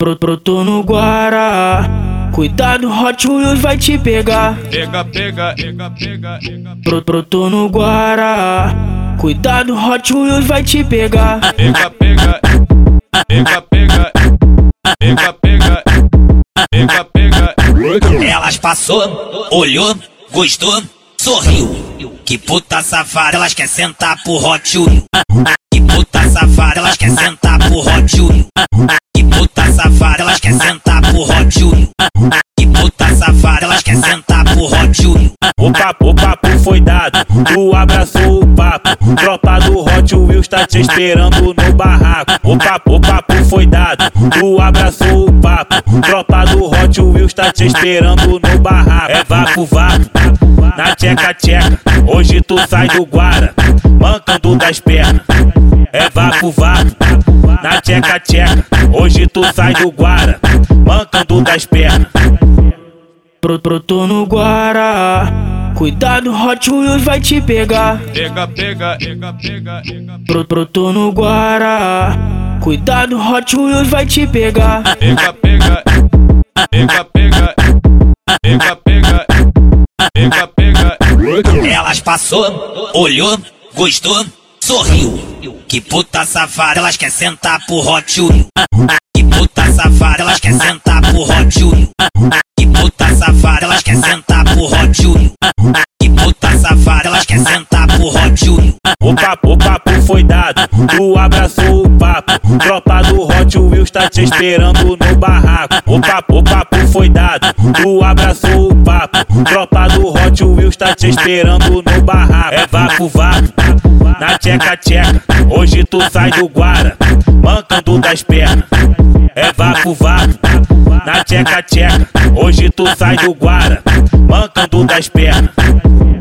Brotou no Guará, cuidado, Hot Wheels vai te pegar. Pega. Brotou no Guará, cuidado, Hot Wheels vai te pegar. Pega. Elas passou, olhou, gostou, sorriu. Que puta safada, elas quer sentar pro Hot Wheels. Que puta safada, elas quer sentar pro Hot Wheels. Que puta safada, elas quer sentar pro Hot Wheels. Que puta safada, elas quer sentar pro Hot Wheels. O papo foi dado, tu abraçou o papo. Tropa do Hot Wheels tá te esperando no barraco. O papo foi dado, tu abraçou o papo. Tropa do Hot Wheels tá te esperando no barraco. É vapo, na tcheca, hoje tu sai do Guara, mancando das pernas. É vapo, na tcheca, hoje tu sai do Guara, mancando das pernas. Brotou no Guará, cuidado, Hot Wheels vai te pegar. Pega. Brotou no Guará, cuidado, Hot Wheels vai te pegar. Pega. Elas passou, olhou, gostou, sorriu. Que puta safada, elas quer sentar pro Hot Wheels. Que puta safada, elas quer sentar pro Hot Wheels. Que puta safada, elas quer sentar pro Hot Wheels. Que puta safada, elas quer sentar pro Hot Wheels. O papo foi dado, tu abraçou o papo. Tropa do Hot Wheels tá te esperando no barraco. O papo foi dado, tu abraçou o papo. Tropa do Hot Wheels tá te esperando no barraco. É vapo, na tcheca, hoje tu sai do Guara, mancando das pernas. É vapo, na tcheca, hoje tu sai do Guara, mancando das pernas.